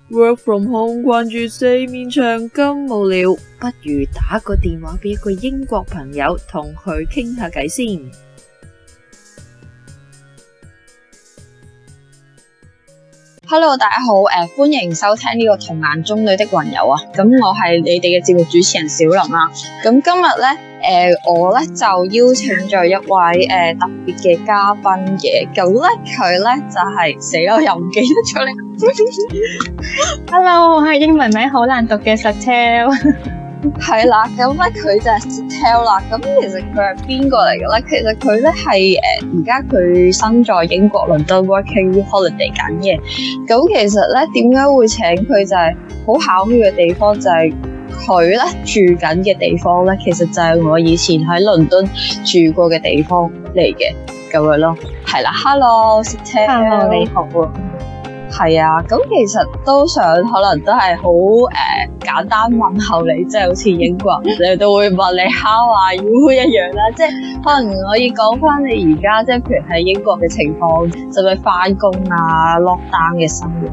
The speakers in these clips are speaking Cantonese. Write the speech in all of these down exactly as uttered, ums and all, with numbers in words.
Work from home 關住四面牆咁無聊，不如打個電話俾一個英國朋友，同佢傾下偈先。 Hello， 大家好，誒、呃，歡迎收聽呢個童顏中女的雲友啊。咁我係你哋嘅節目主持人小林啦。咁今日咧，誒、呃，我咧就邀請咗一位誒、呃、特別嘅嘉賓嘅。咁咧佢咧就係、是、死啦，又唔記得咗你。 Hello， 我係英文名好難讀嘅 Satel。 係啦，咁咧佢就係 Satel 啦。咁其實佢係邊個嚟嘅咧？其實佢咧係誒而家佢身在英國倫敦 working holiday 緊嘅。咁其實咧點解會請佢就係好巧妙嘅地方，就係佢咧住緊嘅地方咧，其實就係我以前喺倫敦住過嘅地方嚟嘅咁樣咯。係啦 ，Hello Satel， Hello 你好。 係啊，咁其實都想可能都係好誒簡單問候你，即係好似英國人你都會問你 How are you 一樣啦，即係可能可以講翻你而家即係譬如喺英國嘅情況，就係翻工啊 lockdown 嘅生活。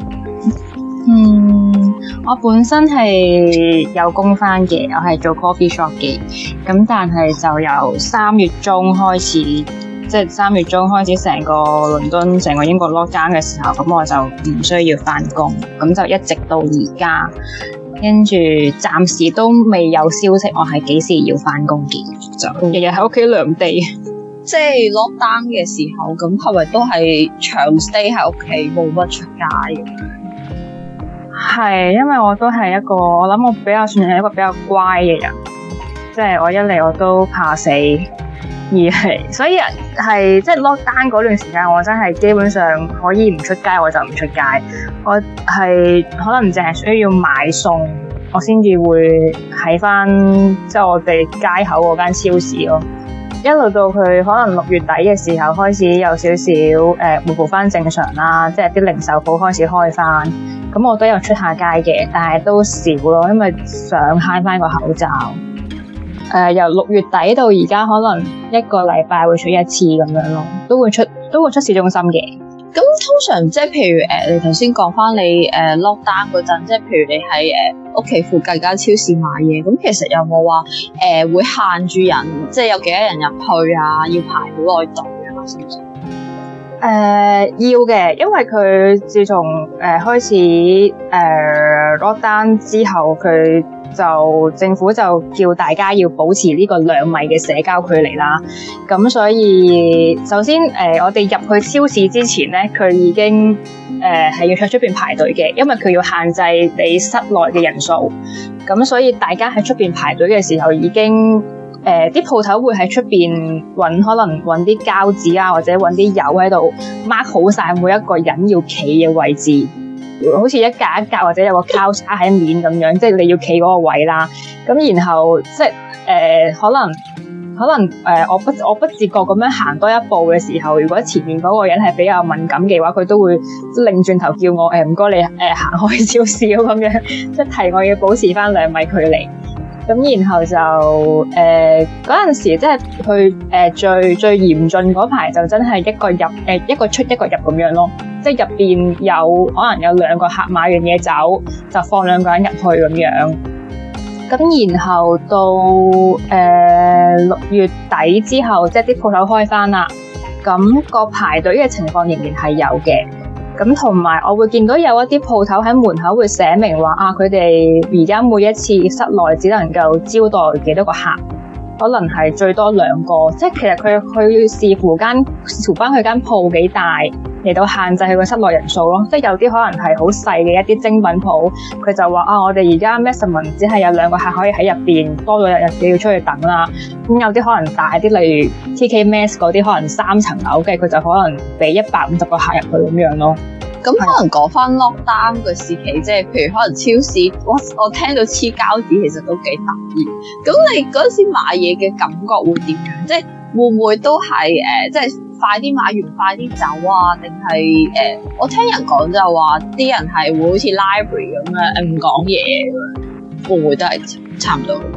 嗯，我本身係有工翻嘅，我係做 coffee shop 嘅，咁但係就由三月中開始。即係三月中開始，成個倫敦、成個英國 lockdown 嘅時候，咁我就唔需要返工，咁就一直到而家，跟住暫時都未有消息，我係幾時要返工嘅，就日日喺屋企涼地。 即係 lockdown 嘅時候，咁係咪都係長 stay 喺屋企，冇乜出街嘅？ 係，因為我都係一個，我諗我比較算係一個比較乖嘅人，即係我一嚟我都怕死。而係，所以係即係 lockdown 嗰段時間，我真係基本上可以唔出街，我就唔出街。我係可能淨係需要買餸，我先至會喺翻即係我哋街口嗰間超市咯。一路到佢可能六月底嘅時候，開始有少少誒回復翻正常啦，即係啲零售鋪開始開翻。咁我都有出下街嘅，但係都少咯，因為想慳翻個口罩。誒、呃，由六月底到而家，可能一個禮拜會出一次咁樣咯，都會出都會出市中心嘅。 咁通常即係譬如誒、呃，你頭先講翻你誒、呃、lockdown 嗰陣，即係譬如你喺誒屋企附近間超市買嘢，咁其實有冇話誒會限住人，即係有幾多人入去啊？要排好耐隊啊？係咪？ 誒、呃，要嘅，因為佢自從誒、呃、開始誒、呃、lockdown 之後，佢就政府就叫大家要保持呢個兩米嘅社交距離啦。咁所以首先誒、呃，我哋入去超市之前咧，佢已經誒係、呃、要喺出邊排隊嘅，因為佢要限制你室內嘅人數。咁所以大家喺出邊排隊嘅時候已經。誒啲鋪頭會喺出邊揾，可能揾啲膠紙啊，或者揾啲油喺度 mark 好晒每一個人要企嘅位置，好似一格一格或者有個交叉喺面咁樣，即係你要企嗰個位啦。咁然後即係誒、呃、可能可能誒、呃、我不我不自覺咁樣行多一步嘅時候，如果前面嗰個人係比較敏感嘅話，佢都會擰轉頭叫我誒唔該你誒行、呃、開少少咁樣，即係提我要保持翻兩米距離。咁然後就誒嗰陣時，即係佢誒最最嚴峻嗰排，就真係一個入誒、呃、一個出一個入咁樣咯。即係入邊有可能有兩個客買完嘢走，就放兩個人入去咁樣。咁然後到誒六月底之後，即係啲鋪頭開返啦，咁個排隊嘅情況仍然係有嘅。咁同埋，我會見到有一啲鋪頭喺門口會寫明話啊，佢哋而家每一次室內只能夠招待幾多個客，可能係最多兩個。即係其實佢佢要視乎間視乎翻佢間鋪幾大嚟到限制佢個室內人數咯。即係有啲可能係好細嘅一啲精品鋪，佢就話啊，我哋而家 maximum 只係有兩個客可以喺入邊，多咗日日你要出去等啦。咁有啲可能大啲，例如 T K Maxx 嗰啲，可能三層樓嘅，佢就可能俾一百五十個客入去咁樣咯。 咁可能講翻 lockdown 嘅時期，即係譬如可能超市，我我聽到黐膠紙其實都幾得意。咁你嗰陣時買嘢嘅感覺會點樣？即係會唔會都係誒、呃，即係快啲買完快啲走啊？定係誒？我聽人講就話啲人係會好似 library 咁樣唔講嘢，會唔會都係差唔多？誒誒、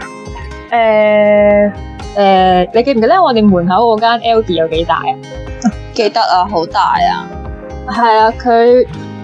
呃呃，你記唔記得我哋門口嗰間 Aldi 有幾大啊？ 記得啊，好大啊！ 係啊，佢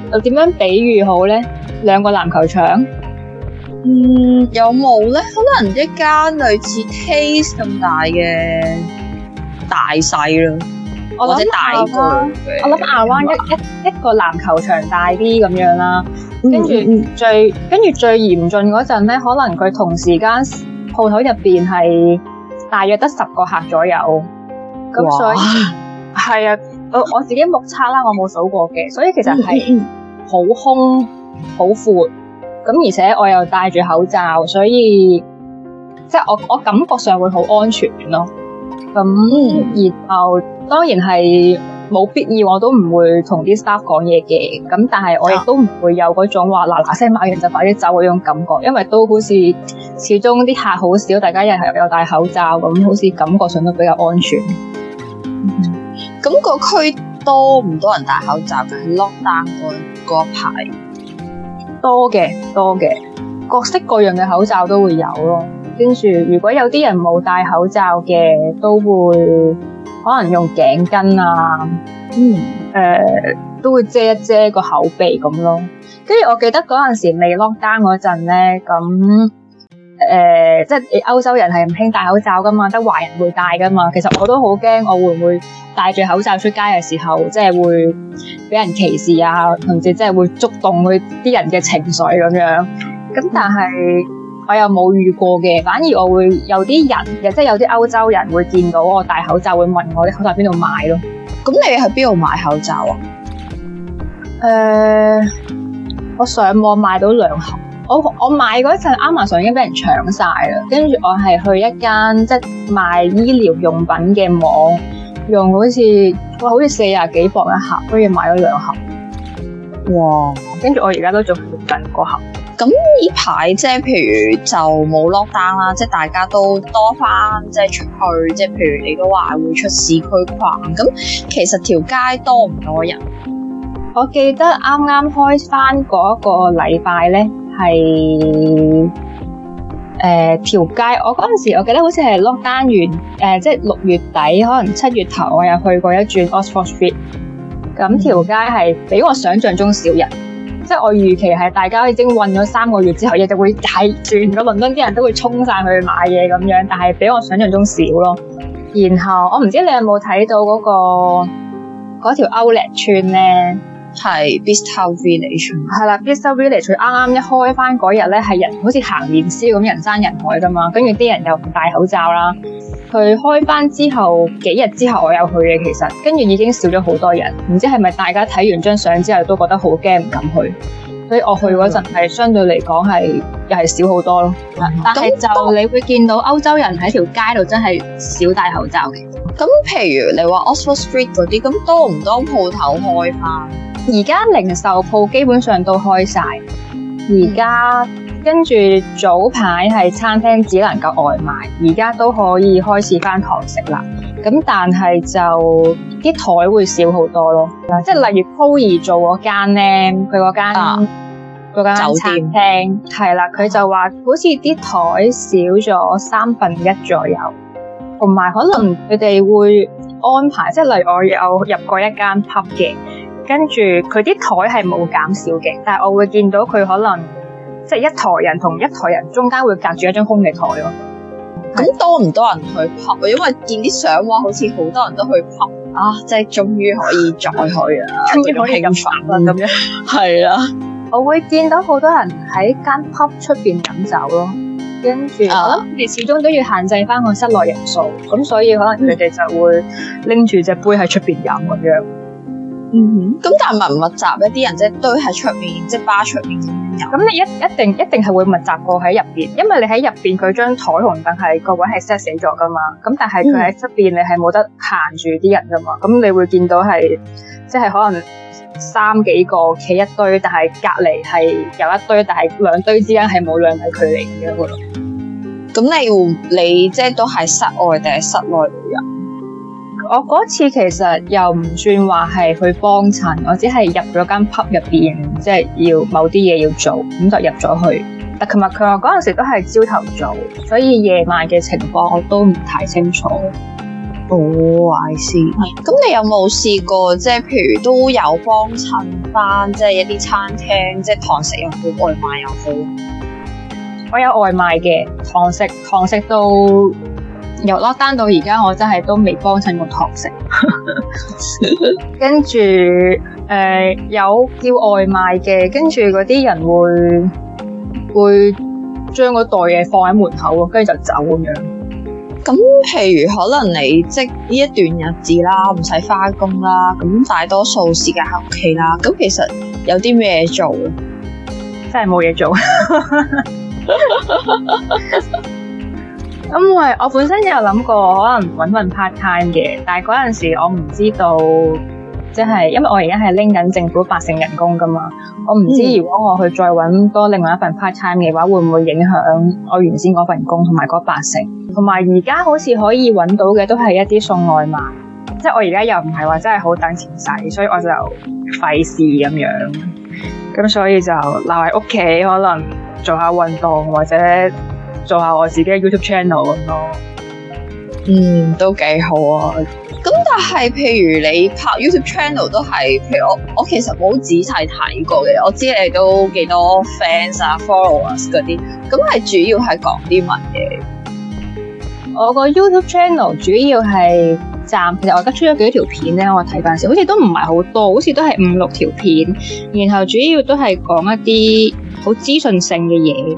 又點樣比喻好咧？兩個籃球場？ 嗯，有冇咧？可能一間類似 Taste 咁大嘅大細咯，或者大個。 我諗亞灣一一一個籃球場大啲咁樣啦，跟住最跟住最嚴峻嗰陣咧，可能佢同時間鋪頭入邊係大約得十個客左右，咁所以係啊，我我自己目測啦，我冇數過嘅，所以其實係好空好闊。咁而且我又戴住口罩，所以即係我我感覺上會好安全咯。咁、嗯、然後當然係冇必要，我都唔會同啲 staff 講嘢嘅。咁但係我亦都唔會有嗰種話嗱嗱聲買完就快啲走嗰種感覺，因為都好似始終啲客好少，大家又係有戴口罩，咁好似感覺上都比較安全。 咁、嗯、個區多唔多人戴口罩嘅？係 lockdown 嗰一排。 多嘅，多嘅，各式各樣嘅口罩都會有咯。跟住，如果有啲人冇戴口罩嘅，都會可能用頸巾啊，嗯，誒、呃，都會遮一遮個口鼻咁咯。跟住，我記得嗰陣時未 lockdown嗰陣咧，咁誒、呃，即係歐洲人係唔興戴口罩噶嘛，得華人會戴噶嘛。其實我都好驚，我會唔會戴住口罩出街嘅時候，即係會俾人歧視啊，甚至即係會觸動佢啲人嘅情緒咁樣。咁但係我又冇遇過嘅，反而我會有啲人嘅，即係有啲歐洲人會見到我戴口罩，會問我啲口罩喺邊度買咯。 咁你喺邊度買口罩啊？ 誒、呃，我上網買到兩盒。我我買嗰陣 Amazon 已經俾人搶晒啦，跟住我係去一間即係賣醫療用品嘅網。用好似哇，好似四廿幾磅一盒，所以買咗兩盒。哇！跟住我而家都仲用緊嗰盒。 咁呢排即係譬如就冇 lockdown啦，即係大家都多翻即係出去，即係譬如你都話會出市區逛。咁其實條街多唔多人？ 我記得啱啱開翻嗰個禮拜咧，係。誒條街，我嗰陣時我記得好似係 lockdown 完，誒、呃、即係六月底，可能七月頭，我有去過一轉 Oxford Street。咁條街係比我想象中少人，即係我預期係大家已經韞咗三個月之後，亦就會係全個倫敦啲人都會衝晒去買嘢咁樣，但係比我想象中少咯。然後我唔知你有冇睇到嗰、嗰個嗰條 Outlet 村咧？ 係 Bicester Village， 係啦 Bicester Village 佢啱啱一開翻嗰日咧，係人好似行年宵咁，人山人海噶嘛，跟住啲人又唔戴口罩啦。佢開翻之後幾日之後，我有去嘅，其實跟住已經少咗好多人，唔知係咪大家睇完張相之後都覺得好驚唔敢去，所以我去嗰陣係相對嚟講係又係少好多咯。嗯、但係就你會見到歐洲人喺條街度真係少戴口罩嘅。 咁譬如你話 Oxford Street 嗰啲，咁多唔多鋪頭開翻？ 而家零售鋪基本上都開晒，而家跟住早排係餐廳只能夠外賣，而家都可以開始翻堂食啦。咁但係就啲台會少好多咯，即係例如 Chloe 做嗰間咧，佢嗰間嗰間餐廳係啦，佢就話好似啲台少咗三分一左右，同埋可能佢哋會安排，即係例如我有入過一間 pub 嘅。跟住佢啲台係冇減少嘅，但係我會見到佢可能即係一枱人同一枱人中間會隔住一張空嘅台咯。 咁多唔多人去 pub？因為見啲相話好似好多人都去 pub 啊，即係終於可以再去啊， 終於可以飲飯啦咁樣。 係啦， 我會見到好多人喺間 pub 出邊飲酒咯，跟住、啊、我諗佢哋始終都要限制翻個室內人數，咁所以可能佢哋就會拎住隻杯喺出邊飲咁樣。 嗯哼，咁但係密唔密集一啲人即係堆喺出面，即係巴出面咁樣。 咁你一一定一定係會密集過喺入邊，因為你喺入邊佢張台同凳係個位係 set 死咗噶嘛。咁但係佢喺出邊你係冇得限住啲人噶嘛。咁、嗯、你會見到係即係可能三幾個企一堆，但係隔離係有一堆，但係兩堆之間係冇兩米距離咁樣咯。 咁你會你即係都係室外定係室內旅遊？ 我嗰次其實又唔算話係去幫襯，我只係入咗間 pub 入邊，即係要某啲嘢要做，咁就入咗去。但琴日佢話嗰陣時都係朝頭早，所以夜晚嘅情況我都唔太清楚。 哦，I see。咁你有冇試過即係譬如都有幫襯翻即係一啲餐廳，即係堂食又好，外賣又好？ 我有外賣嘅，堂食堂食到由 lockdown 到而家，我真係都未幫襯過堂食。跟住誒、呃、有叫外賣嘅，跟住嗰啲人會會將嗰袋嘢放喺門口咯，跟住就走咁樣。 咁譬如可能你即呢一段日子啦，唔使返工啦，咁大多數時間喺屋企啦，咁其實有啲咩做咧？ 真係冇嘢做。因為我本身有諗過可能搵份 part time 嘅，但係嗰陣時我唔知道，即係因為我而家係拎緊政府八成人工噶嘛，我唔知如果我去再搵多另外一份 part time 嘅話，會唔會影響我原先嗰份工同埋嗰八成？同埋而家好似可以搵到嘅都係一啲送外賣，即係我而家又唔係話真係好等錢使，所以我就費事咁樣，咁所以就留喺屋企，可能做下運動或者做下我自己嘅 YouTube channel 咁咯。 嗯，都幾好啊。咁但係譬如你拍 YouTube channel 都係，譬如我我其實冇仔細睇過嘅，我知你都幾多 fans 啊 followers 嗰啲，咁係主要係講啲乜嘢？ 我個 YouTube channel 主要係暫，其實我而家出咗幾條片咧，我睇翻時好似都唔係好多，好似都係五六條片，然後主要都係講一啲好資訊性嘅嘢。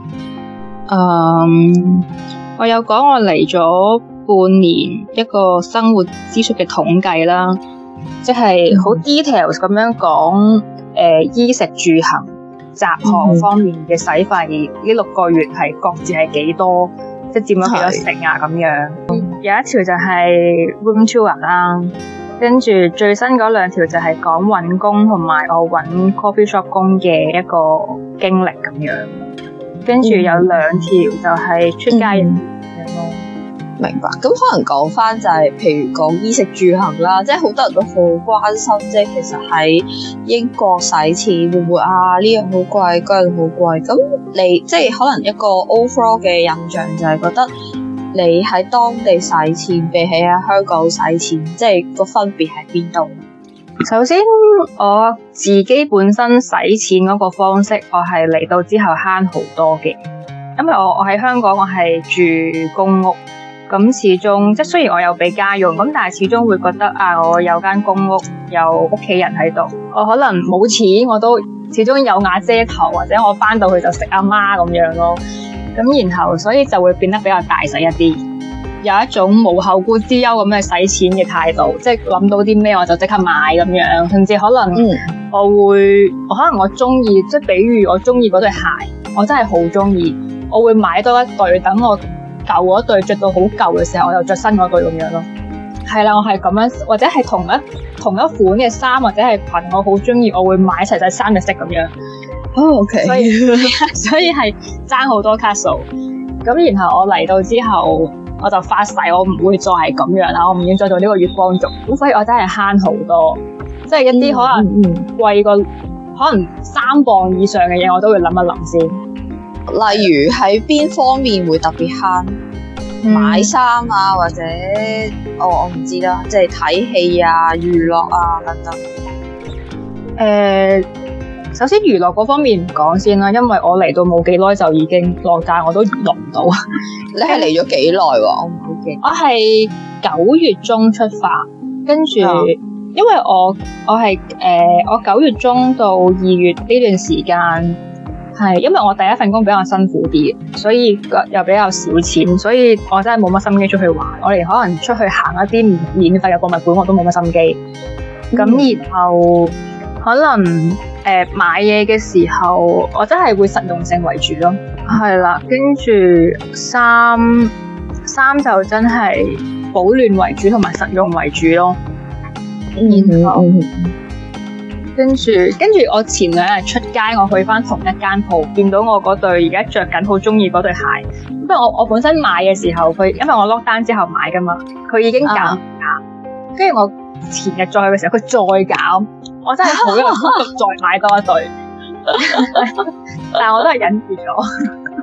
嗯，我有講我嚟咗半年一個生活支出嘅統計啦，即係好 details 咁樣講，誒、呃，衣食住行雜項方面嘅使費呢六個月係各自係幾多，即係佔咗幾多成啊咁樣。有一條就係 room tour 啦，跟住最新嗰兩條就係講搵工同埋我搵 coffee shop 工嘅一個經歷咁樣。跟住有兩條就係出街人咁樣咯。 明白。咁可能講翻就係、是，譬如講衣食住行啦，即係好多人都好關心，即係其實喺英國使錢會唔會啊？呢樣好貴，嗰樣好貴。咁你即係可能一個 overall 嘅印象就係覺得你喺當地使錢比起喺香港使錢，即係個分別喺邊度？ 首先，我自己本身使錢嗰個方式，我係嚟到之後慳好多嘅，因為我我喺香港我係住公屋，咁始終即係雖然我有俾家用，咁但係始終會覺得啊，我有間公屋，有屋企人喺度，我可能冇錢，我都始終有瓦遮頭，或者我翻到去就食阿媽咁樣咯，咁然後所以就會變得比較大使一啲。有一種無後顧之憂咁嘅使錢嘅態度，即係諗到啲咩我就即刻買咁樣，甚至可能我會，嗯、我可能我中意，即係比如我中意嗰對鞋，我真係好中意，我會買多一對，等我舊嗰對着到好舊嘅時候，我又着新嗰對咁樣咯。係啦，我係咁樣，或者係同一同一款嘅衫或者係裙，我好中意，我會買齊晒三隻色咁樣。 哦，OK， 所以所以係爭好多卡數。咁然後我嚟到之後，我就發誓我唔會再係咁樣啦，我唔要再做呢個月光族。咁所以我真係慳好多，即係一啲可能貴過、嗯嗯、可能三磅以上嘅嘢，我都會諗一諗先。 例如喺邊方面會特別慳？嗯、買衫啊，或者我我唔知啦，即係睇戲啊、娛樂啊等等。 誒、呃，首先娛樂嗰方面唔講先啦，因為我嚟到冇幾耐就已經落假，我都娛樂唔到。 你係嚟咗幾耐喎？我唔好記。 我係九月中出發，跟住、嗯、因為我我係誒、呃、我九月中到二月呢段時間係因為我第一份工比較辛苦啲，所以又比較少錢，所以我真係冇乜心機出去玩。我連可能出去行一啲免費嘅博物館我都冇乜心機。咁、嗯、然後可能誒、呃、買嘢嘅時候，我真係會實用性為主咯。係啦，跟住衫衫就真係保暖為主同埋實用為主咯。然後、嗯、跟住跟住我前兩日出街，我去翻同一間鋪，見到我嗰對而家着緊好中意嗰對鞋。因為我我本身買嘅時候，佢因為我 lock down 之後買噶嘛，佢已經減價。跟住、啊、我前日再去嘅時候，佢再減，我真係好有心再買多一對。但係我都係忍住咗。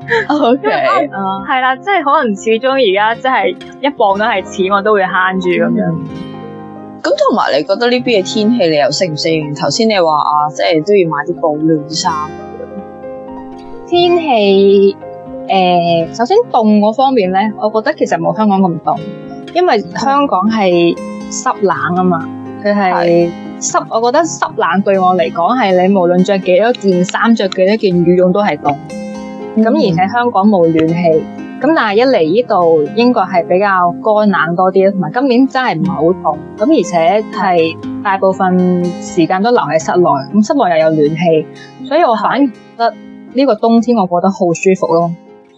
O K， 係啦，即係可能始終而家即係一磅都係錢，我都會慳住咁樣。 咁同埋，你覺得呢邊嘅天氣你又適唔適應？頭先你話啊，即係都要買啲保暖衫。 天氣誒、呃，首先凍嗰方面咧，我覺得其實冇香港咁凍，因為香港係濕冷啊嘛，佢係濕。我覺得濕冷對我嚟講係你無論着幾多件衫、着幾多件羽絨都係凍。咁、嗯、而且香港冇暖氣。咁但係一嚟呢度英國係比較乾冷多啲，同埋今年真係唔係好凍，咁而且係大部分時間都留喺室內，咁室內又有暖氣，所以我反而覺得呢個冬天我覺得好舒服咯。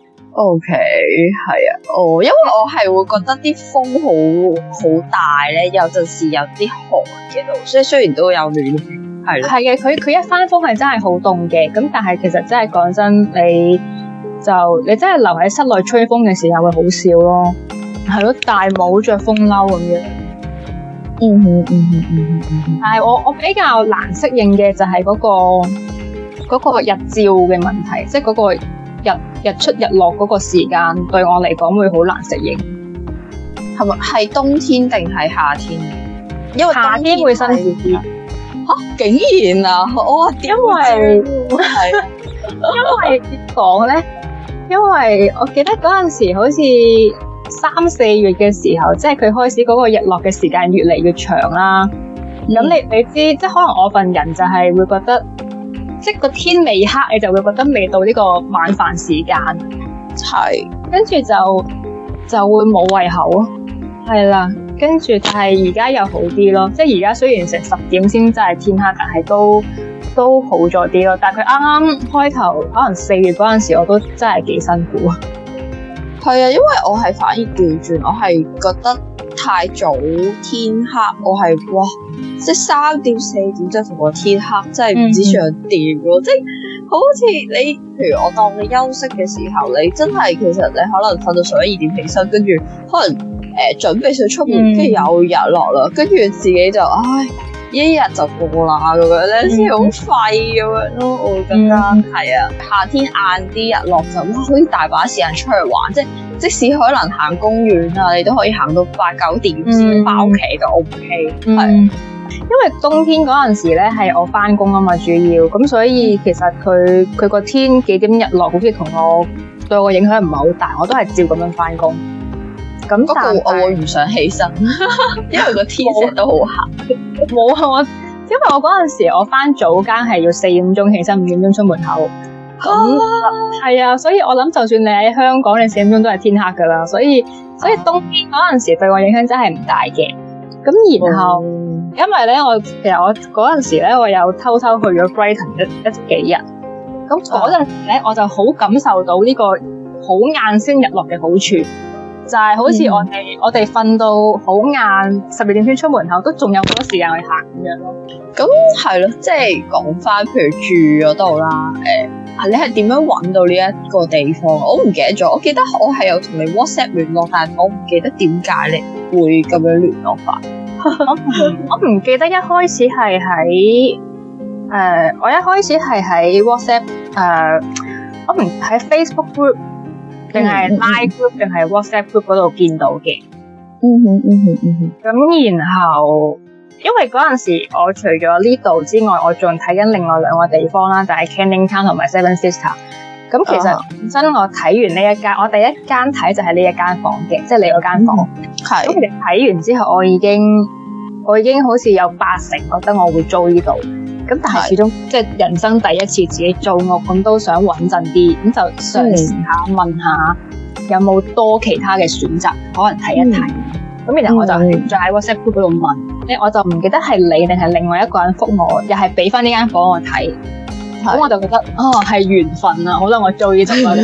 OK， 係啊，哦，因為我係會覺得啲風好好大咧，有陣時有啲寒嘅度，所以雖然都有暖氣，係咯， 係嘅，佢佢一翻風係真係好凍嘅，咁但係其實真係講真你。就你真係留喺室內吹風嘅時候會好笑咯，係咯，大帽着風褸咁樣。 嗯哼嗯哼嗯哼。 但係我我比較難適應嘅就係嗰個嗰個日照嘅問題，即係嗰個日日出日落嗰個時間對我嚟講會好難適應。 係咪係冬天定係夏天？因為夏天會辛苦啲。 嚇！竟然啊！我話點會係因為點講咧？因為我記得嗰陣時好似三四月嘅時候，即係佢開始嗰個日落嘅時間越嚟越長啦。咁、嗯、你你知，即係可能我份人就係會覺得，即係個天未黑，你就會覺得未到呢個晚飯時間， 係跟住就就會冇胃口咯。係啦，跟住但係而家又好啲咯，即係而家雖然成十點先真係天黑，但係都。都好咗啲咯，但係佢啱啱開頭可能四月嗰陣時，我都真係幾辛苦啊。 係啊，因為我係反而調轉，我係覺得太早天黑，我係哇，即係三點四點即係同個天黑，真係唔知想點咯。即係好似你，譬如我當你休息嘅時候，你真係其實你可能瞓到十一二點起身，跟住可能誒、呃、準備上出門，跟住有日落啦，跟住自己就唉。一日就過啦咁樣咧，先好廢咁樣咯。我會覺得係啊，夏天晏啲日落就哇，好似大把時間出去玩，即係即使可能行公園啊，你都可以行到八九點先翻屋企就 O K。係，因為冬天嗰陣時咧係我翻工啊嘛，主要咁所以其實佢佢個天幾點日落，好似同我對我影響唔係好大，我都係照咁樣翻工。咁不過我會唔想起身，因為個天成日都好黑。 冇啊！我因為我嗰陣時我翻早更係要四點鐘起身，五點鐘出門口。咁係啊，所以我諗就算你喺香港，你四點鐘都係天黑噶啦。所以所以冬天嗰陣時對我影響真係唔大嘅。咁然後、嗯、因為咧，我其實我嗰陣時咧，我有偷偷去咗 Brighton 一一幾日。咁嗰陣時咧，我就好感受到呢個好晏先日落嘅好處。就係好似我哋、嗯、我哋瞓到好晏，十二點先出門口，都仲有好多時間去行咁樣咯。 咁係咯，即係講翻，譬如住嗰度啦，誒、呃，你係點樣揾到呢一個地方？我唔記得咗，我記得我係有同你 WhatsApp 聯絡，但係我唔記得點解你會咁樣聯絡法。 我唔記得一開始係喺誒，我一開始係喺 WhatsApp 誒、呃，我唔喺 Facebook group。定係 Line group 定係 WhatsApp group 嗰度見到嘅。 嗯哼嗯哼嗯哼。咁然後，因為嗰陣時我除咗呢度之外，我仲睇緊另外兩個地方啦，就係 Canning Town 同埋 Seven Sisters。咁其實本身我睇完呢一間，我第一間睇就係呢一間房嘅，即係你嗰間房。係。咁其實睇完之後，我已經我已經好似有八成覺得我會租呢度。咁但係始終即係人生第一次自己租屋，咁都想穩陣啲，咁就嘗試下問下有冇多其他嘅選擇，可能睇一睇。咁、嗯、然後我就再喺 WhatsApp group 嗰度問，咧、嗯、我就唔記得係你定係另外一個人覆我，又係俾翻呢間房我睇。咁我就覺得哦係緣分啊，好啦，我租呢度啦。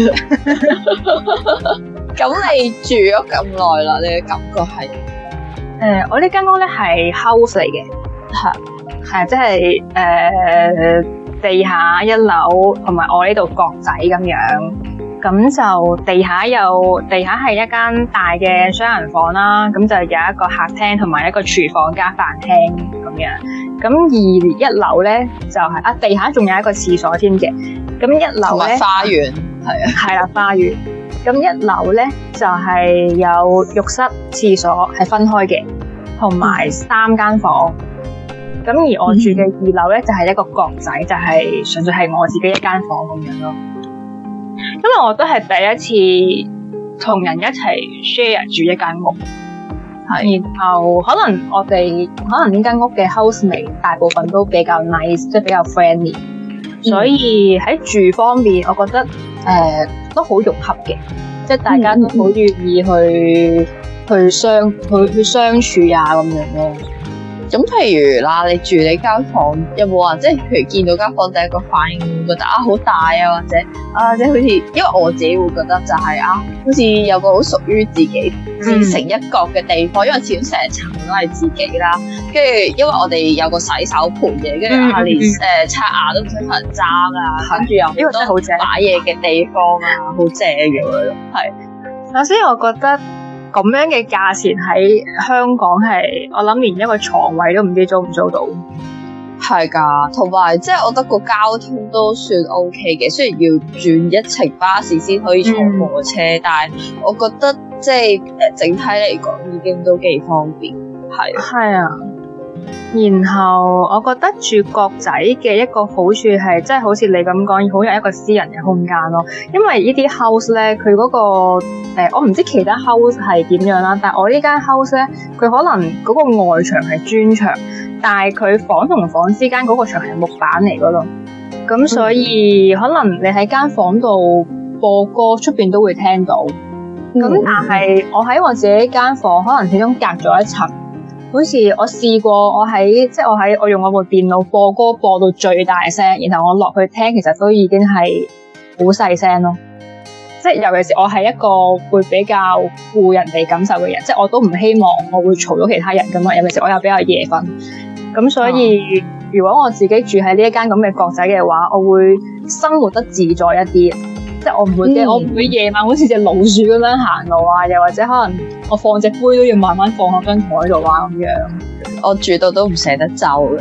咁你住咗咁耐啦，你嘅感覺係？誒、 呃，我呢間屋咧係 house 嚟嘅，係。係，即係誒、呃、地下一樓，同埋我呢度角仔咁樣，咁就地下有地下係一間大嘅雙人房啦，咁就有一個客廳同埋一個廚房加飯廳咁樣， 咁二一樓咧就係、是、啊地下仲有一個廁所添嘅。咁一樓咧花園係啊， 係啦花園。咁一樓咧就係、是、有浴室、廁所係分開嘅，同埋三間房。咁而我住嘅二樓咧就係一個角仔，就係、是、純粹係我自己一間房咁樣咯。因為我都係第一次同人一齊 share 住一間屋，係，然後可能我哋可能呢間屋嘅 housemate 大部分都比較 nice， 即係比較 friendly，嗯、所以喺住方面，我覺得誒、呃、都好融洽嘅，即係大家都好願意去、嗯、去相去去相處啊咁樣咯。 咁譬如啦，你住你間房有冇話，即係譬如見到間房第一個反應會覺得啊好大啊，或者啊即係好似，因為我自己會覺得就係、是、啊，好似有個好屬於自己自成一角嘅地方，嗯、因為始終成層都係自己啦。跟住因為我哋有個洗手盆嘅，跟住啊連誒刷牙都唔使同人爭啊，跟住又好多擺嘢嘅地方啊，好正嘅咯，係。 首先我覺得。咁樣嘅價錢喺香港係，我諗連一個床位都唔知租唔租到。 係㗎，同埋即係我覺得個交通都算 OK 嘅，雖然要轉一程巴士先可以坐火車，嗯、但係我覺得即係誒整體嚟講已經都幾方便。係。係啊。然後我覺得住角仔嘅一個好處係，即係好似你咁講，好有一個私人嘅空間咯。因為呢啲 house 咧，佢嗰個誒，我唔知其他 house 係點樣啦，但係我呢間 house 咧，佢可能嗰個外牆係磚牆，但係佢房同房之間嗰個牆係木板嚟噶咯。咁所以可能你喺間房度播歌，出邊都會聽到。咁但係我喺我自己間房，可能始終隔咗一層。好似我試過我，我喺即係我喺我用我部電腦播歌播到最大聲，然後我落去聽，其實都已經係好細聲咯。即係尤其是我係一個會比較顧人哋感受嘅人，即係我都唔希望我會嘈到其他人噶嘛。尤其是我又比較夜瞓，咁所以、嗯、如果我自己住喺呢一間咁嘅角仔嘅話，我會生活得自在一啲。即係我唔會驚，嗯、我唔會夜晚好似隻老鼠咁樣行路啊，又或者可能我放隻杯都要慢慢放喺張台度啊咁樣。我住到都唔捨得走嘅，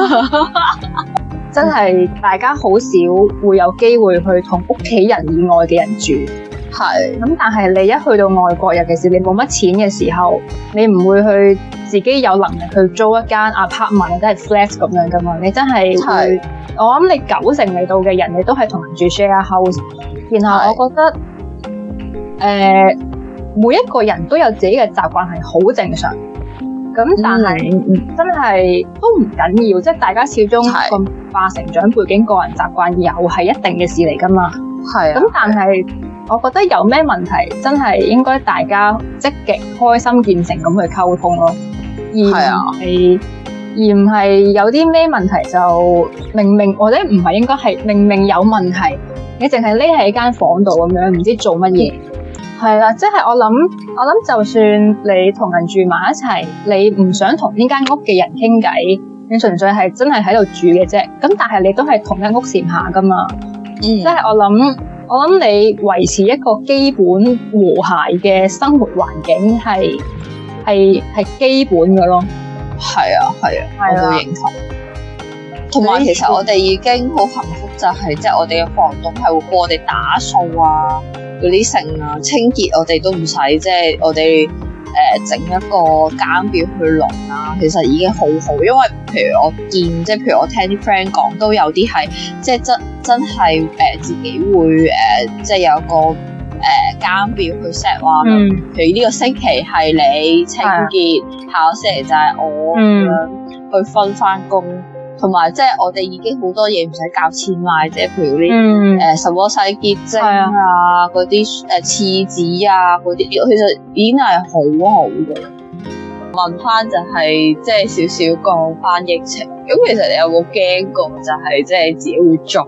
真係大家好少會有機會去同屋企人以外嘅人住。係咁，但係你一去到外國，尤其是你冇乜錢嘅時候，你唔會去自己有能力去租一間 apartment 或者係 flat 咁樣噶嘛？你真係會，我諗你九成嚟到嘅人，你都係同人住 share house。然後我覺得，誒、呃，每一個人都有自己嘅習慣係好正常。咁但係、嗯、真係都唔緊要，即係大家始終個文化成長背景、個人習慣又係一定嘅事嚟噶嘛。係啊。咁但係我覺得有咩問題，真係應該大家積極、開心、見誠咁去溝通咯。而唔係、啊、而唔係有啲咩問題就明明或者唔係應該係明明有問題。你淨係匿喺間房度咁樣，唔知做乜嘢，係啦，即係我諗，我諗就算你同人住埋一齊，你唔想同呢間屋嘅人傾偈，你純粹係真係喺度住嘅啫。咁但係你都係同一屋檐下噶嘛，嗯、即係我諗，我諗你維持一個基本和諧嘅生活環境係係係基本嘅咯。係啊，係啊，我都認同。同埋其實我哋已經好幸福，就係即係我哋嘅房東係會幫我哋打掃啊，嗰啲剩啊清潔，我哋都唔使即係我哋誒整一個間表去輪啊，其實已經好好。因為譬如我見即係譬如我聽啲 friend 講，都有啲係即係真真係誒、呃、自己會誒、呃、即係有個誒間、呃、表去 set 話，嗯、譬如呢個星期係你清潔，的下個星期就係我咁樣、嗯、去分翻工。同埋即係我哋已經好多嘢唔使交錢買，即係譬如啲誒、嗯呃、什麼洗潔精啊，嗰啲誒廁紙啊嗰啲，其實已經係好好嘅。問翻就係即係少少講翻疫情，咁其實你有冇驚過就係即係自己會中？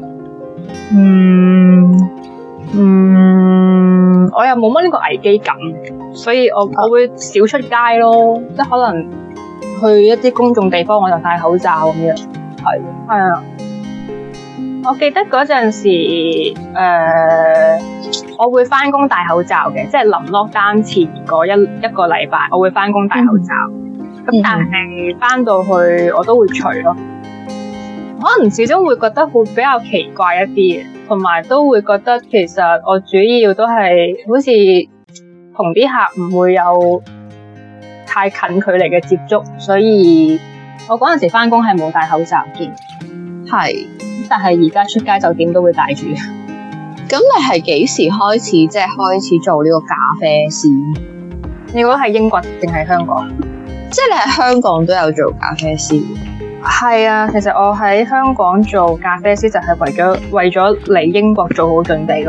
嗯嗯，我又冇乜呢個危機感，所以我我會少出街咯，即係可能。去一啲公眾地方我就戴口罩咁樣，係係啊！我記得嗰陣時，誒、呃，我會翻工戴口罩嘅，即係臨 lockdown前嗰一一個禮拜，我會翻工戴口罩。 咁但係翻到去我都會除咯。可能始終會覺得會比較奇怪一啲嘅，同埋都會覺得其實我主要都係好似同啲客唔會有太近距離嘅接觸，所以我嗰陣時翻工係冇戴口罩嘅。 係， 但係而家出街就點都會戴住。 咁你係幾時開始即係開始做呢個咖啡師？ 你覺得係英國定係香港？ 即係你喺香港都有做咖啡師？ 係啊，其實我喺香港做咖啡師就係為咗為咗嚟英國做好準備咯。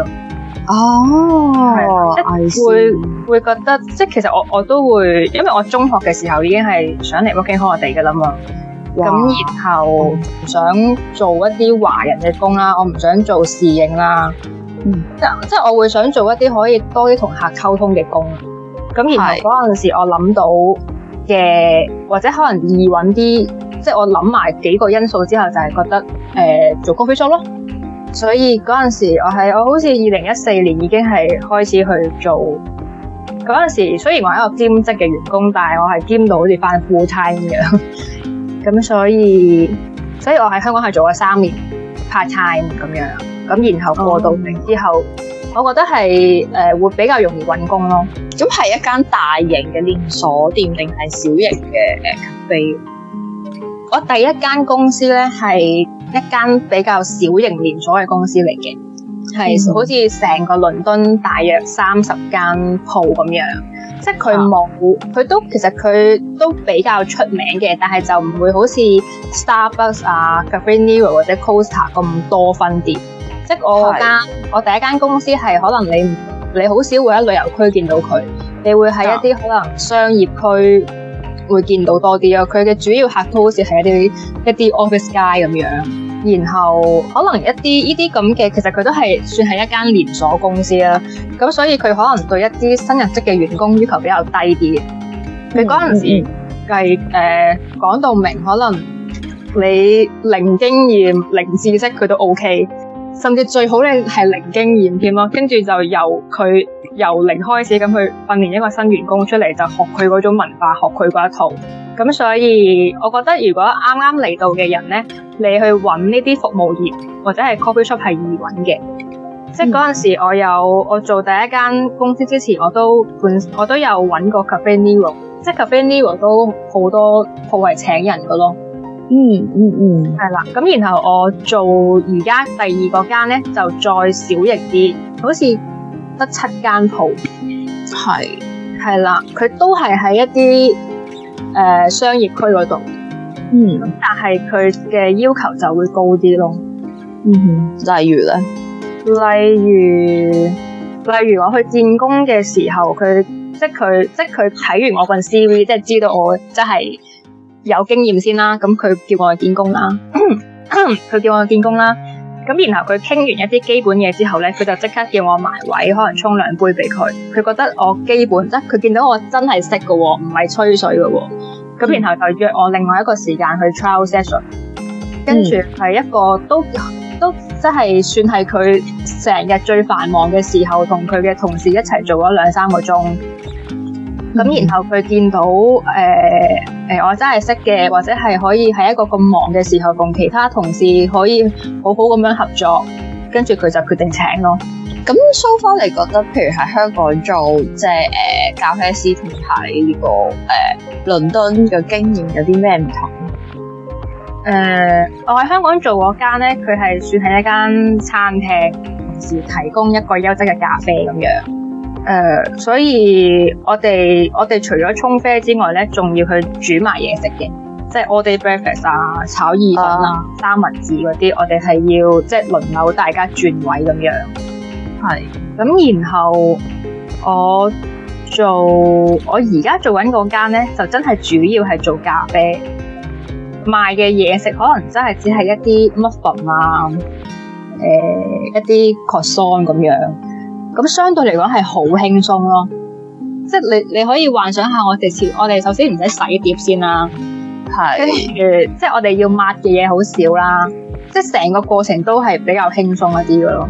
哦， 係即係會會覺得，即係其實我我都會，因為我中學嘅時候已經係想嚟 working holiday 㗎啦嘛。咁然後唔想做一啲華人嘅工啦，我唔想做侍應啦。嗯，即即係我會想做一啲可以多啲同客溝通嘅工。咁然後嗰陣時我諗到嘅，或者可能易揾啲。即係我諗埋幾個因素之後，就係覺得誒、呃、做 coffee shop 咯。所以嗰陣時我係我好似二零一四年已經係開始去做。嗰陣時雖然我係一個兼職嘅員工，但係我係兼到好似翻 full time 嘅。咁所以所以我喺香港係做咗三年 part time 咁樣。咁然後過到嚟之後，嗯、我覺得係誒、呃、會比較容易揾工咯。 咁係一間大型嘅連鎖店定係小型嘅誒咖啡？ 我第一間公司咧係一間比較小型連鎖嘅公司嚟嘅，係、嗯、好似成個倫敦大約三十間鋪咁樣，即係佢冇，佢、啊、都其實佢都比較出名嘅，但係就唔會好似 Starbucks 啊、Cafe Nero 或者 Costa 咁多分店。即係我間我第一間公司係可能你你好少會喺旅遊區見到佢，你會喺一啲可能商業區會見到多啲咯，佢嘅主要客都好似係一啲一啲 office guy 咁樣，然後可能一啲呢啲咁嘅，其實佢都係算係一間連鎖公司啦。咁所以佢可能對一啲新入職嘅員工要求比較低啲嘅。佢嗰陣時係誒講到明，可能你零經驗、零知識，佢都 OK。甚至最好咧係零經驗添咯，跟住就由佢由零開始咁去訓練一個新員工出嚟，就學佢嗰種文化，學佢嗰一套。咁所以我覺得如果啱啱嚟到嘅人咧，你去揾呢啲服務業或者係 coffee shop 係易揾嘅。嗯、即係嗰陣時我有我做第一間公司之前，我都本我都有揾過 Cafe Nero， 即係 Cafe Nero 都好多鋪係請人㗎咯。 嗯嗯嗯，係啦，咁然後我做而家第二個間咧，就再小型啲，好似得七間鋪，係係啦，佢都係喺一啲誒、呃、商業區嗰度，嗯，但係佢嘅要求就會高啲咯，嗯哼， 例如咧， 例如例如我去見工嘅時候，佢即係佢即係佢睇完我份 C V， 即係知道我即係有經驗先啦，咁佢叫我去見工啦，佢叫我去見工啦，咁然後佢傾完一啲基本嘢之後咧，佢就即刻叫我埋位，可能沖兩杯俾佢。佢覺得我基本，即係佢見到我真係識嘅喎，唔係吹水嘅喎。咁、嗯、然後就約我另外一個時間去 trial session，跟住係一個都都即係算係佢成日最繁忙嘅時候，同佢嘅同事一齊做咗兩三個鐘。咁、嗯、然後佢見到誒誒、呃呃、我真係識嘅，或者係可以喺一個咁忙嘅時候，同其他同事可以好好咁樣合作，跟住佢就決定請咯。 咁 so far 你覺得，譬如喺香港做即係誒咖啡師同喺呢個誒、呃、倫敦嘅經驗有啲咩唔同？ 誒、呃，我喺香港做嗰間咧，佢係算係一間餐廳，同時提供一個優質嘅咖啡咁樣。誒、呃，所以我哋我哋除咗沖啡之外咧，仲要去煮埋嘢食嘅，即係 all day breakfast 啊、炒意粉啊、啊三文治嗰啲，我哋係要即係輪流大家轉位咁樣。係，咁然後我做我而家做緊嗰間咧，就真係主要係做咖啡，賣嘅嘢食可能真係只係一啲 muffin 啊，誒、呃、一啲 croissant 咁樣。咁相對嚟講係好輕鬆咯，即係你你可以幻想下我哋前我哋首先唔使洗碟先啦，係，跟住即係我哋要抹嘅嘢好少啦，即係成個過程都係比較輕鬆一啲嘅咯。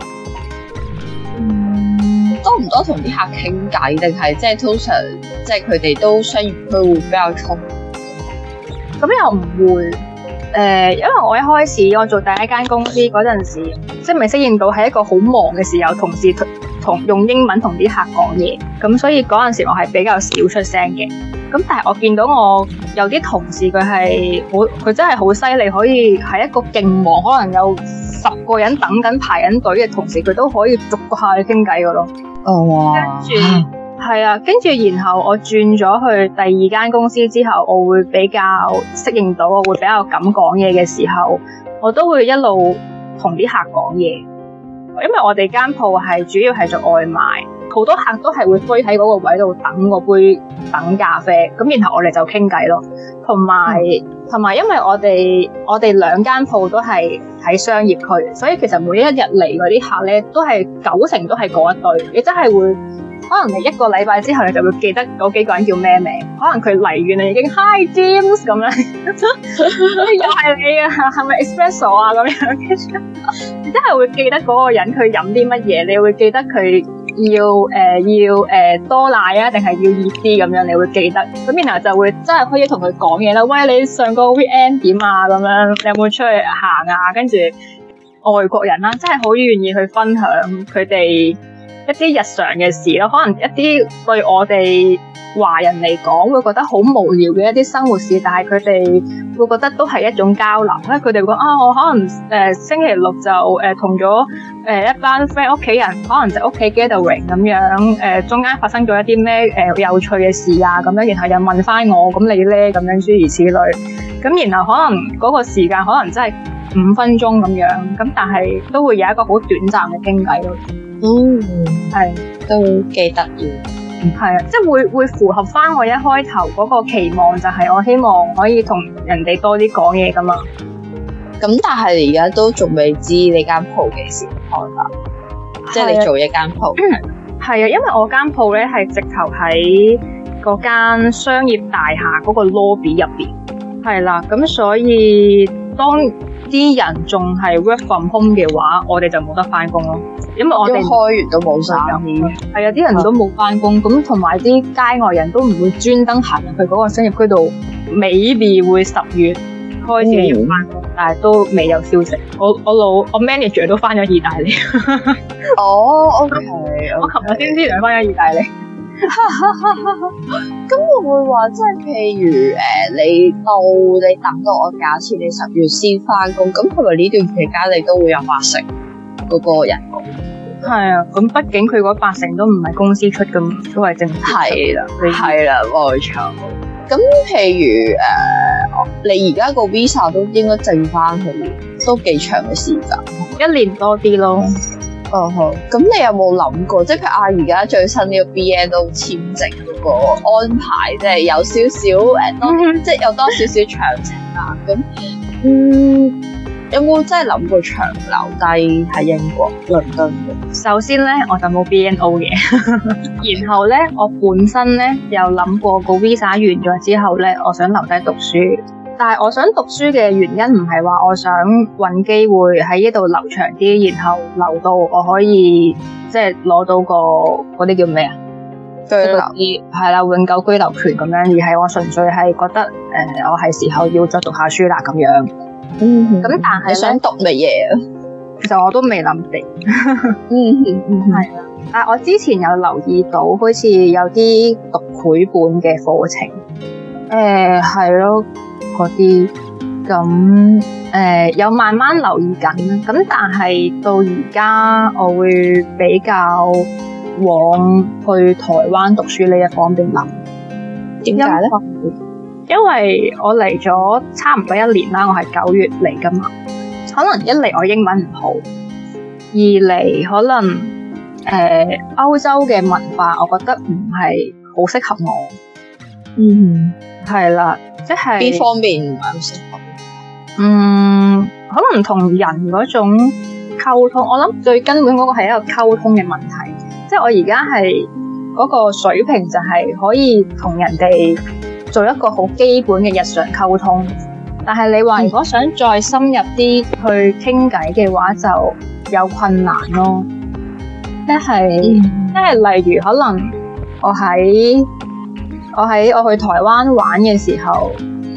嗯，多唔多同啲客傾偈定係即係通常即係佢哋都商業區會比較充咁又唔會。誒、呃，因為我一開始我做第一間公司嗰陣時，即係未適應到係一個好忙嘅時候，同事同同用英文同啲客講嘢，咁所以嗰陣時我係比較少出聲嘅。咁但係我見到我有啲同事佢係好，佢真係好犀利，可以喺一個勁忙，可能有十個人等緊排緊隊嘅同時，佢都可以逐個客去傾偈㗎咯。 哦，哇！ 跟住係啊，跟住然後我轉咗去第二間公司之後，我會比較適應到，我會比較敢講嘢嘅時候，我都會一路同啲客講嘢。因為我哋間鋪係主要係做外賣，好多客都係會堆喺嗰個位度等個杯等咖啡，咁然後我哋就傾偈咯。同埋同埋，因為我哋我哋兩間鋪都係喺商業區，所以其實每一日嚟嗰啲客咧，都係九成都係嗰一堆，你真係會。可能你一個禮拜之後，你就會記得嗰幾個人叫咩名。可能佢嚟完啦，已經 Hi James 咁樣，又係你啊，係咪 Espresso 啊咁樣？你真係會記得嗰個人佢飲啲乜嘢，你會記得佢要誒、呃、要誒、呃、多奶啊，定係要熱啲咁樣，你會記得。咁然後就會真係可以同佢講嘢啦。喂，你上個 weekend 點啊？咁樣你有冇出去行啊？跟住外國人啦、啊，真係好願意去分享佢哋一啲日常嘅事咯，可能一啲對我哋華人嚟講會覺得好無聊嘅一啲生活事，但係佢哋會覺得都係一種交流。因為佢哋會講啊，我可能誒、呃、星期六就誒同咗誒一班 friend 屋企人，可能就屋企 gathering 咁樣，誒、呃、中間發生咗一啲咩誒有趣嘅事啊咁樣，然後又問翻我，咁你咧咁樣諸如此類。咁然後可能嗰個時間可能真係五分鐘咁樣，咁但係都會有一個好短暫嘅傾偈咯。 嗯， 係都幾得意， 係啊，即係會會符合翻我一開頭嗰個期望，就係我希望可以同人哋多啲講嘢噶嘛。 咁但係你而家都仲未知你間鋪幾時開啦？即係你做一間鋪， 係啊，因為我間鋪咧係直頭喺嗰間商業大廈嗰個 lobby 入邊，係啦，咁所以當啲人仲係 work from home 嘅話，我哋就冇得翻工咯。因為我哋開完都冇晒， 係啊，啲人都冇翻工，咁同埋啲街外人都唔會專登行入去嗰個商業區度。maybe 會十月開始要翻工，嗯、但係都未有消息。我我老我 manager 都翻咗意大利。 哦，OK， 我琴日先知佢翻咗意大利。 咁會唔會話即係譬如誒、呃，你到你等到我假設你十月先翻工，咁係咪呢段期間你都會有八成嗰個人工？ 係啊，咁畢竟佢嗰八成都唔係公司出咁，都係政府出。係啦， 係啦，冇錯。咁譬如誒、呃，你而家個 visa 都應該剩翻去，都幾長嘅時間， 一年多啲咯。 哦好，咁你有冇諗過，即係譬如啊，而家最新呢個 B N O 簽證嗰個安排，即係有少少誒，多啲即係有多少少詳情啊？咁嗯。有冇真係諗過長留低喺英國倫敦嘅？ 首先咧，我就冇 B N O 嘅，然後咧，我本身咧有諗過個 visa 完咗之後咧，我想留低讀書。但係我想讀書嘅原因唔係話我想搵機會喺呢度留長啲，然後留到我可以即係攞到個嗰啲叫咩啊？居留係啦，永久居留權咁樣，而係我純粹係覺得誒、呃，我係時候要再讀下書啦咁樣。 嗯， 咁但係你想讀乜嘢啊？ 其實我都未諗定。 嗯嗯，係啦。但係我之前有留意到，好似有啲讀繪本嘅課程。誒係咯，嗰啲咁誒有慢慢留意緊。咁但係到而家，我會比較往去台灣讀書呢一方面諗。點解咧？因為我嚟咗差唔多一年啦，我係九月嚟噶嘛。可能一嚟我英文唔好，二嚟可能誒、呃、歐洲嘅文化，我覺得唔係好適合我。嗯，係啦，即係邊方面唔係好適合？ 嗯，可能同人嗰種溝通，我諗最根本嗰個係一個溝通嘅問題。即係我而家係嗰個水平，就係可以同人哋做一個好基本嘅日常溝通，但係你話如果想再深入啲去傾偈嘅話，就有困難咯。即係即係例如可能我喺我喺我去台灣玩嘅時候，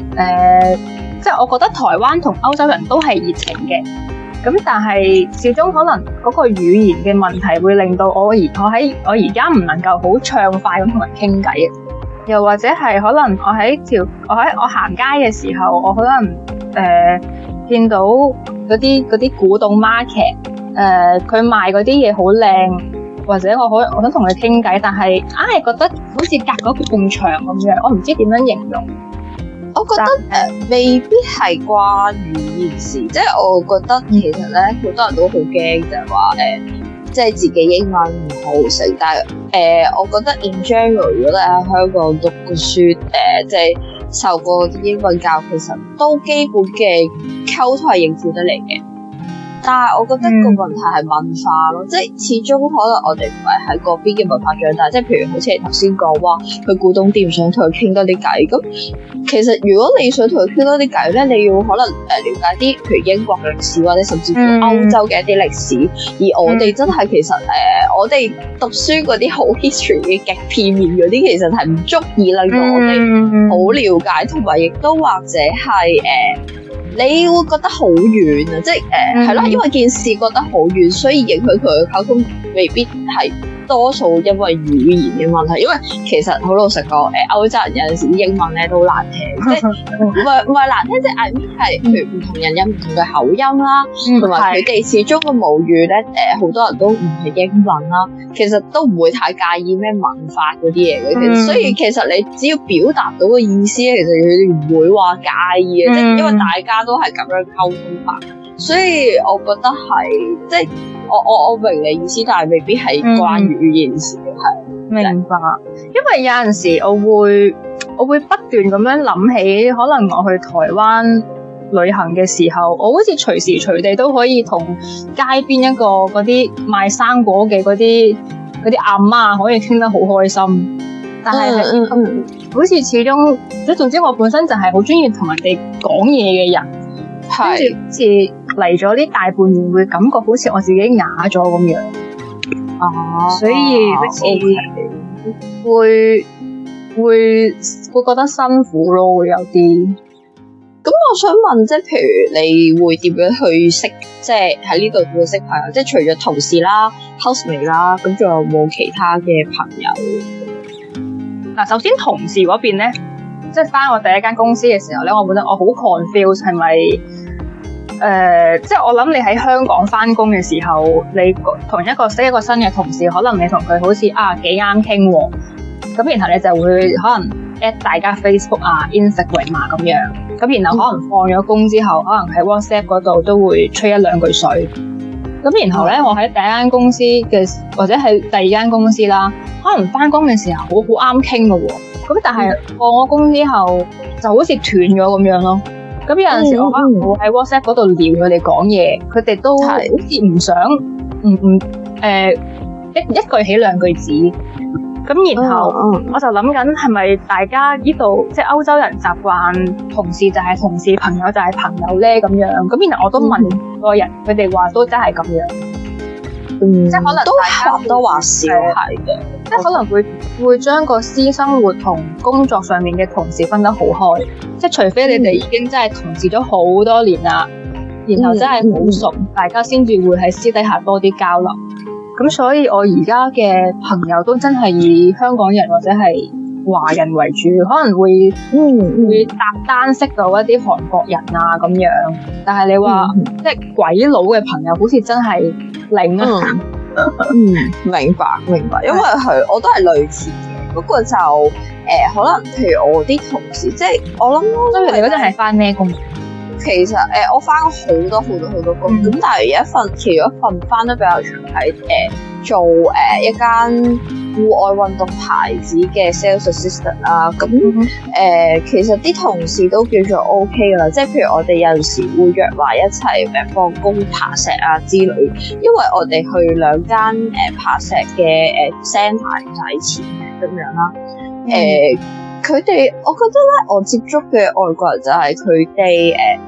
呃，即係我覺得台灣同歐洲人都係熱情嘅，咁但係始終可能嗰個語言嘅問題會令到我而我喺我而家唔能夠好暢快咁同人傾偈，又或者係可能我喺條我喺我行街嘅時候，我可能誒、呃、見到嗰啲嗰啲古董 market， 誒、呃、佢賣嗰啲嘢好靚，或者我可我想同佢傾偈，但係硬係覺得好似隔咗埲牆咁樣，我唔知點樣形容。 我覺得誒、呃、未必係關語言事，即係我覺得其實咧好多人都好驚就係話誒，即係自己英文唔好識，但係誒、呃、我覺得 in general 如果你喺香港讀過書誒、呃，即係受過啲英文教，其實都基本嘅溝通係應付得嚟嘅。但係我覺得個問題係文化咯，嗯、即係始終可能我哋唔係喺嗰邊嘅文化長大，即係譬如好似你頭先講話去古董店想同佢傾多啲偈，咁其實如果你想同佢傾多啲偈咧，你要可能誒了解啲譬如英國歷史或者甚至乎歐洲嘅一啲歷史，嗯、而我哋真係其實誒、呃、我哋讀書嗰啲好 history 嘅極片面嗰啲，其實係唔足以令到我哋好了解，同埋亦都或者係誒。呃你會覺得好遠啊，即係誒係咯，因為件事覺得好遠，所以影響佢嘅溝通未必係多數因為語言嘅問題。因為其實好老實講，誒、呃、歐洲人有陣時啲英文咧都難聽，即係唔係唔係難聽，即係 I mean 係譬如唔同人有唔同嘅口音啦，同埋佢哋始終嘅母語咧誒好多人都唔係英文啦，其實都唔會太介意咩文法嗰啲嘢嘅，其實所以其實你只要表達到個意思咧，其實佢哋唔會話介意嘅，即係因為大家都係咁樣溝通法，所以我覺得係即係我我我明你意思，但係未必係關於語言事嘅，係、嗯、 明白。因為有陣時我會我會不斷咁樣諗起，可能我去台灣旅行嘅時候，我好似隨時隨地都可以同街邊一個嗰啲賣生果嘅嗰啲嗰啲阿媽可以傾得好開心，但係係、嗯嗯、好似始終即係總之我本身就係好中意同人哋講嘢嘅人。跟住好似嚟咗呢大半年，會感覺好似我自己啞咗咁樣。哦、啊，所以好似會會會覺得辛苦咯，會有啲。 咁我想問，即係譬如你會點樣去識，即係喺呢度會識朋友？即係除咗同事啦、housemate 啦，咁仲有冇其他嘅朋友？ 嗱，首先同事嗰邊咧。即係返我第一間公司嘅時候咧，我覺得我好 confused 係咪誒？即係我諗你喺香港返工嘅時候，你同一個識一個新嘅同事，可能你同佢好似啊幾啱傾喎，咁然後你就會可能 at 大家 Facebook 啊、Instagram 啊咁樣，咁然後可能放咗工之後，可能喺 WhatsApp 嗰度都會吹一兩句水。咁然後咧，我喺第一間公司嘅或者係第二間公司啦，可能返工嘅時候好好啱傾嘅喎。咁但係放咗工之後就好似斷咗咁樣咯。咁有陣時我可能會喺 WhatsApp 嗰度撩佢哋講嘢，佢哋都好似唔想，唔唔誒一一句起兩句止。咁然後我就諗緊係咪大家呢度即係歐洲人習慣同事就係同事，朋友就係朋友咧咁樣。咁然後我都問個人，佢哋話都真係咁樣。嗯，即係可能都或多或少係嘅， 即係可能會會將個私生活同工作上面嘅同事分得好開，即係除非你哋已經真係同事咗好多年啦，嗯、然後真係好熟，嗯、大家先至會喺私底下多啲交流。咁所以我而家嘅朋友都真係以香港人或者係華人為主，可能會嗯會搭單識到一啲韓國人啊咁樣，但係你話、嗯、即係鬼佬嘅朋友好似真係零啊。 嗯，明白明白，因為係我都係類似嘅，不過就誒、呃、可能譬如我啲同事，即係我諗， 所以你嗰陣係返咩工？ 其實誒、呃，我返好多好多好多工，咁、嗯、但係有一份，其中一份返得比較長係誒、呃、做誒、呃、一間戶外運動牌子嘅 sales assistant 啦。咁誒、呃，其實啲同事都叫做 OK 㗎啦，即係譬如我哋有陣時會約埋一齊誒放工爬石啊之類，因為我哋去兩間誒、呃、爬石嘅誒 centre 唔使錢嘅咁樣啦，誒、呃。佢哋，我覺得咧，我接觸嘅外國人就係佢哋誒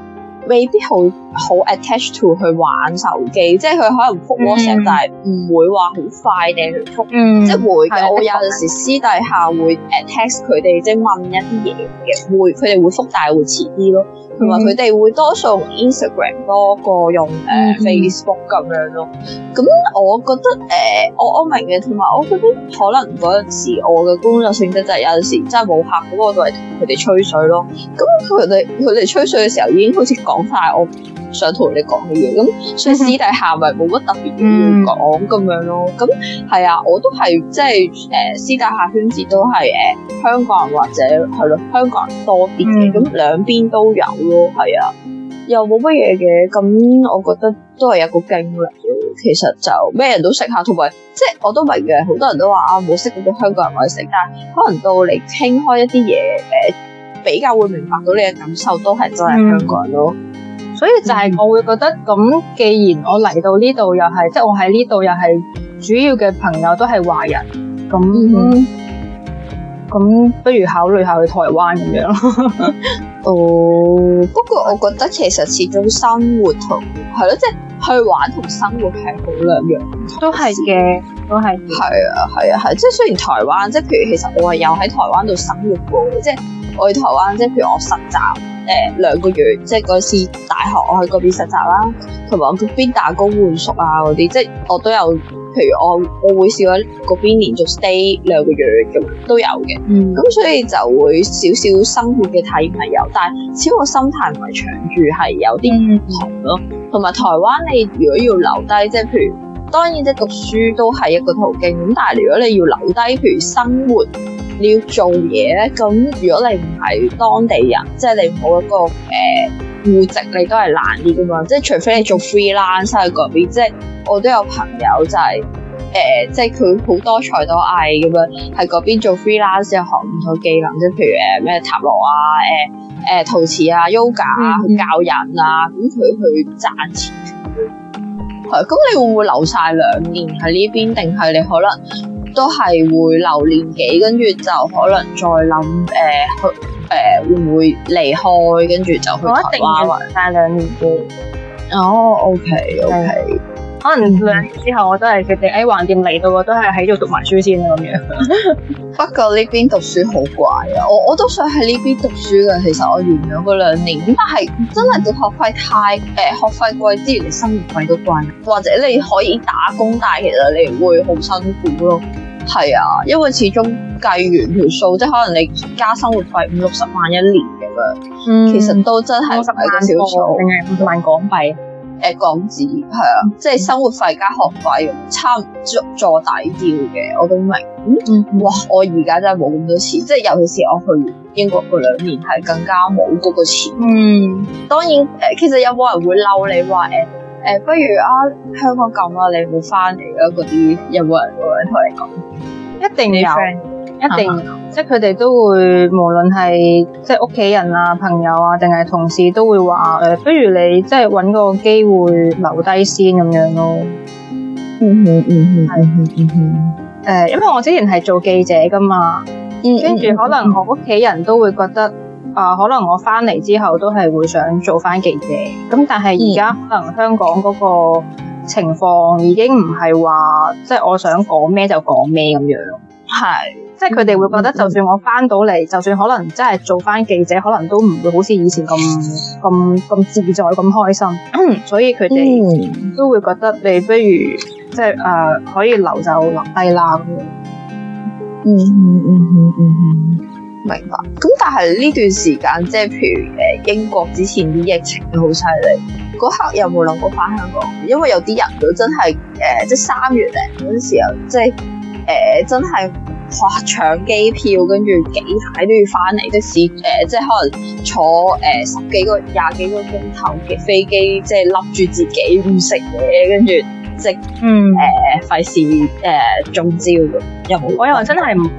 未必好好 attach to 去玩手機，即係佢可能覆 WhatsApp，、嗯、但係唔會話好快地去覆，嗯、即係會嘅。我有陣時私底下會誒 text 佢哋，即係問一啲嘢嘅，會佢哋會覆，但係會遲啲咯。同埋佢哋會多數用 Instagram 多過用誒、呃嗯、Facebook 咁樣咯。咁我覺得誒、呃，我我明嘅，同埋我覺得可能嗰陣時我嘅工作性質就係有陣時真係冇客，咁我就係同佢哋吹水咯。咁佢哋佢哋吹水嘅時候已經好似講晒我想同你講嘅嘢，咁所以私底下咪冇乜特別嘢要講咁樣咯。咁係啊，我都係即係誒私底下圈子都係誒、呃、香港人或者係咯香港人多啲嘅，咁兩邊都有咯，係啊，又冇乜嘢嘅。咁我覺得都係一個經歷咯。其實就咩人都識下，同埋即係我都明嘅，好多人都話啊冇識到啲香港人我識，但係可能到你傾開一啲嘢誒，比較會明白到你嘅感受，都係真係香港人咯。嗯所以就係我會覺得咁，既然我嚟到呢度又係，即係我喺呢度又係主要嘅朋友都係華人，咁咁、嗯、不如考慮下去台灣咁樣咯。哦，不過我覺得其實始終生活同係咯，即係去玩同生活係好兩樣，都係嘅，都係。係啊，係啊，係。即係雖然台灣，即係譬如其實我係有喺台灣度生活過嘅，即係我去台灣，即係譬如我實習。誒、呃、兩個月，即係嗰次大學我喺嗰邊實習啦，同埋我嗰邊打工換宿啊嗰啲，即係我都有。譬如我我會試過嗰邊連續 stay 兩個月咁都有嘅。嗯，咁所以就會少少生活嘅體驗係有，但係始終個心態唔係長住，係有啲唔同咯。同埋、嗯、台灣你如果要留低，即係譬如當然即係讀書都係一個途徑，咁但係如果你要留低，譬如生活。你要做嘢咧，咁如果你唔係當地人，即係你冇一個誒戶籍，你都係難啲噶嘛。即係除非你做 freelance 喺嗰邊，即係我都有朋友就係、是、誒、呃，即係佢好多才多藝咁樣喺嗰邊做 freelance，又學唔同技能，即係譬如誒咩塔羅啊、誒、呃、誒陶瓷啊、yoga 啊，去教人啊，咁佢去賺錢。係，咁你會唔會留晒兩年喺呢邊，定係你可能？都係會留年幾，跟住就可能再諗誒去誒會唔會離開，跟住就去台灣玩翻兩年嘅。哦 ，OK OK，可能兩年之後我都係決定誒橫掂嚟到，我都係喺度讀埋書先啦咁樣。不過呢邊讀書好貴啊，我我都想喺呢邊讀書嘅。其實我完咗嗰兩年，咁但係真係個學費太誒、呃、學費貴之餘，你生活費都貴，或者你可以打工，但係其實你會好辛苦咯。係啊，因為始終計完條數，即係可能你加生活費五六十萬一年咁樣，嗯、其實都真係唔係個小數，定係五十萬港幣？誒、呃、港紙係啊，即係生活費加學費差唔多坐底要嘅，我都明。嗯，哇！我而家真係冇咁多錢，即係尤其是我去英國嗰兩年係更加冇嗰個錢。嗯，當然誒、呃，其實有冇人會嬲你話誒？呃誒、呃，不如啊，香港咁啦，你冇翻嚟啦，嗰啲有冇人會同你講？一定有，一定有，即係佢哋都會，無論係即係屋企人啊、朋友啊，定係同事都會話誒、呃，不如你即係搵個機會留低先咁樣咯。嗯哼，嗯哼，係，嗯哼，誒、呃，因為我之前係做記者噶嘛，跟住、嗯、可能我屋企人都會覺得。啊、呃，可能我翻嚟之後都係會想做翻記者，咁但係而家可能香港嗰個情況已經唔係話，即係我想講咩就講咩咁樣。係，即係佢哋會覺得，就算我翻到嚟，就算可能真係做翻記者，可能都唔會好似以前咁咁咁自在、咁開心。所以佢哋都會覺得你不如即係誒、呃、可以留就留低啦咁樣。嗯嗯嗯嗯嗯。明白，咁但係呢段時間，即係譬如誒英國之前啲疫情都好犀利，嗰刻有冇諗過翻香港？因為有啲人都真係誒、呃，即係三月零嗰陣時候，即係誒、呃、真係哇搶機票，跟住幾排都要翻嚟，即係誒即係可能坐誒、呃、十幾個、廿幾個鐘頭嘅飛機，即係笠住自己唔食嘢，跟住即係嗯誒費事誒中招咁。有冇？我又話真係唔。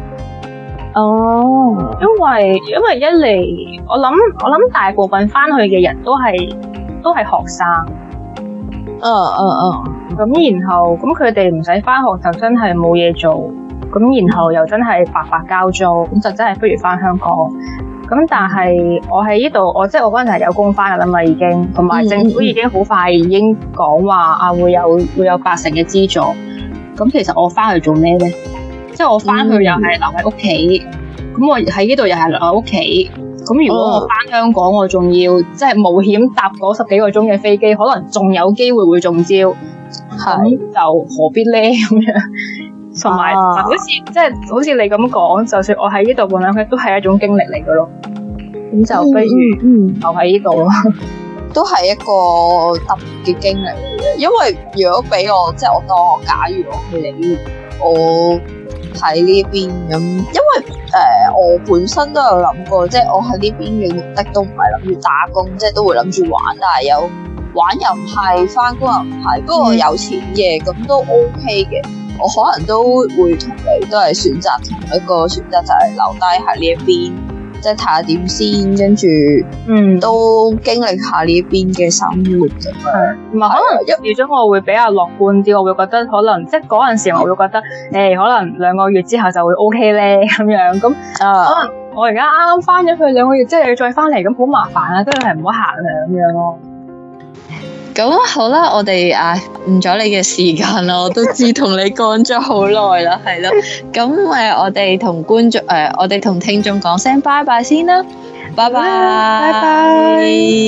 哦，因為因為一嚟，我諗我諗大部分翻去嘅人都係都係學生，嗯嗯嗯，咁然後咁佢哋唔使翻學就真係冇嘢做，咁然後又真係白白交租，咁就真係不如翻香港。咁咁但係我喺呢度，我即係我嗰陣係有工返噶啦嘛，已經，同埋政府已經好快已經講話啊會有會有八成嘅資助。咁其實我翻去做咩咧？即係我翻去又係留喺屋企，咁、嗯、我喺呢度又係留喺屋企。咁如果我翻香港，我仲要即係冒險搭嗰十幾個鐘嘅飛機，可能仲有機會會中招，咁是就何必咧咁樣？同埋好似即係好似你咁講，就算我喺呢度半兩日都係一種經歷嚟嘅咯。咁就不如留喺呢度咯， 都係一個特別嘅經歷嚟嘅。因為如果俾我，即係我當我假如我去你，我喺呢邊咁，因為誒、呃、我本身都有諗過，即係我喺呢邊嘅目的都唔係諗住打工，即係都會諗住玩，但係有玩又唔係，翻工又唔係，不過有錢嘅咁都 OK 嘅。我可能都會同你都係選擇同一個選擇，就係留低喺呢一邊，即係睇下點先，跟住嗯都經歷下呢一邊嘅生活咁樣。 唔係可能預咗我會比較樂觀啲，我會覺得可能即係嗰陣時我會覺得誒、欸、可能兩個月之後就會 OK 咧咁樣。咁、uh, 可能我而家啱啱翻咗去兩個月，即係要再翻嚟咁好麻煩啊，都係唔好行啊咁樣咯。 咁好啦，我哋啊誤咗你嘅時間啦，我都知同你講咗好耐啦，係咯。咁誒，我哋同觀眾誒，我哋同聽眾講聲拜拜先啦，拜拜，拜拜。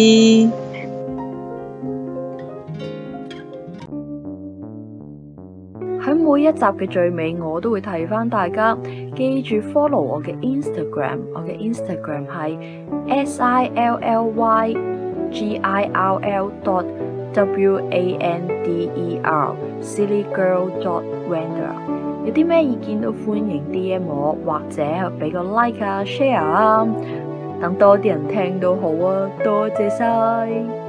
喺每一集嘅最尾，我都會提翻大家，記住 follow 我嘅 Instagram， 我嘅 Instagram 係 S I L L Y G I R L dot W A N D E R Silly Girl dot Wander。 有啲咩意見都歡迎 D M 我，或者俾個 like 啊 share 啊，等多啲人聽到好啊，多謝晒。